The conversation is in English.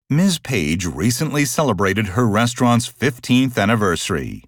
Ms. Page recently celebrated her restaurant's 15th anniversary.